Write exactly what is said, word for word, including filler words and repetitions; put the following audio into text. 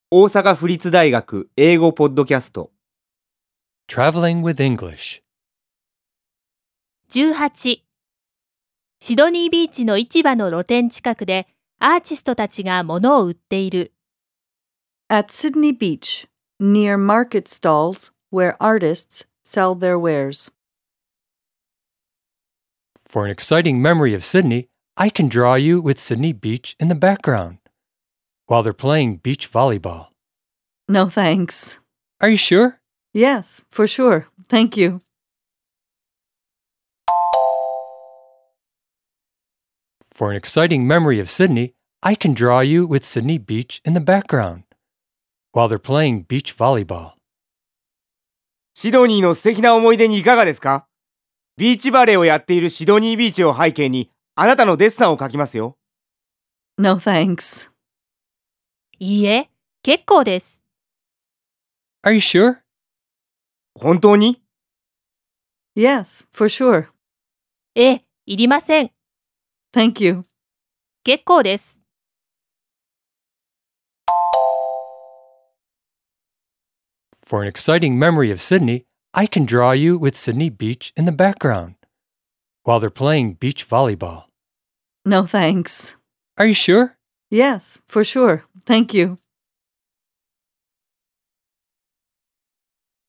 大阪府立大学英語ポッドキャスト Traveling with English. じゅうはち. シドニービーチの市場の露店近くでアーティストたちが物を売っている。 At Sydney Beach, near market stalls where artists sell their wares. For an exciting memory of Sydney, I can draw you with Sydney Beach in the background while they're playing beach volleyball. No thanks. Are you sure? Yes, for sure. Thank you. For an exciting memory of Sydney, I can draw you with Sydney Beach in the background while they're playing beach volleyball. シドニーの素敵な思い出にいかがですか？ビーチバレーをやっているシドニービーチを背景にあなたのデッサンを描きますよ。 No thanks. いいえ、結構です。 Are you sure? 本当に？ Yes, for sure. ええ、いりません。 Thank you. 結構です。 For an exciting memory of Sydney, I can draw you with Sydney Beach in the background while they're playing beach volleyball. No thanks. Are you sure? Yes, for sure. Thank you.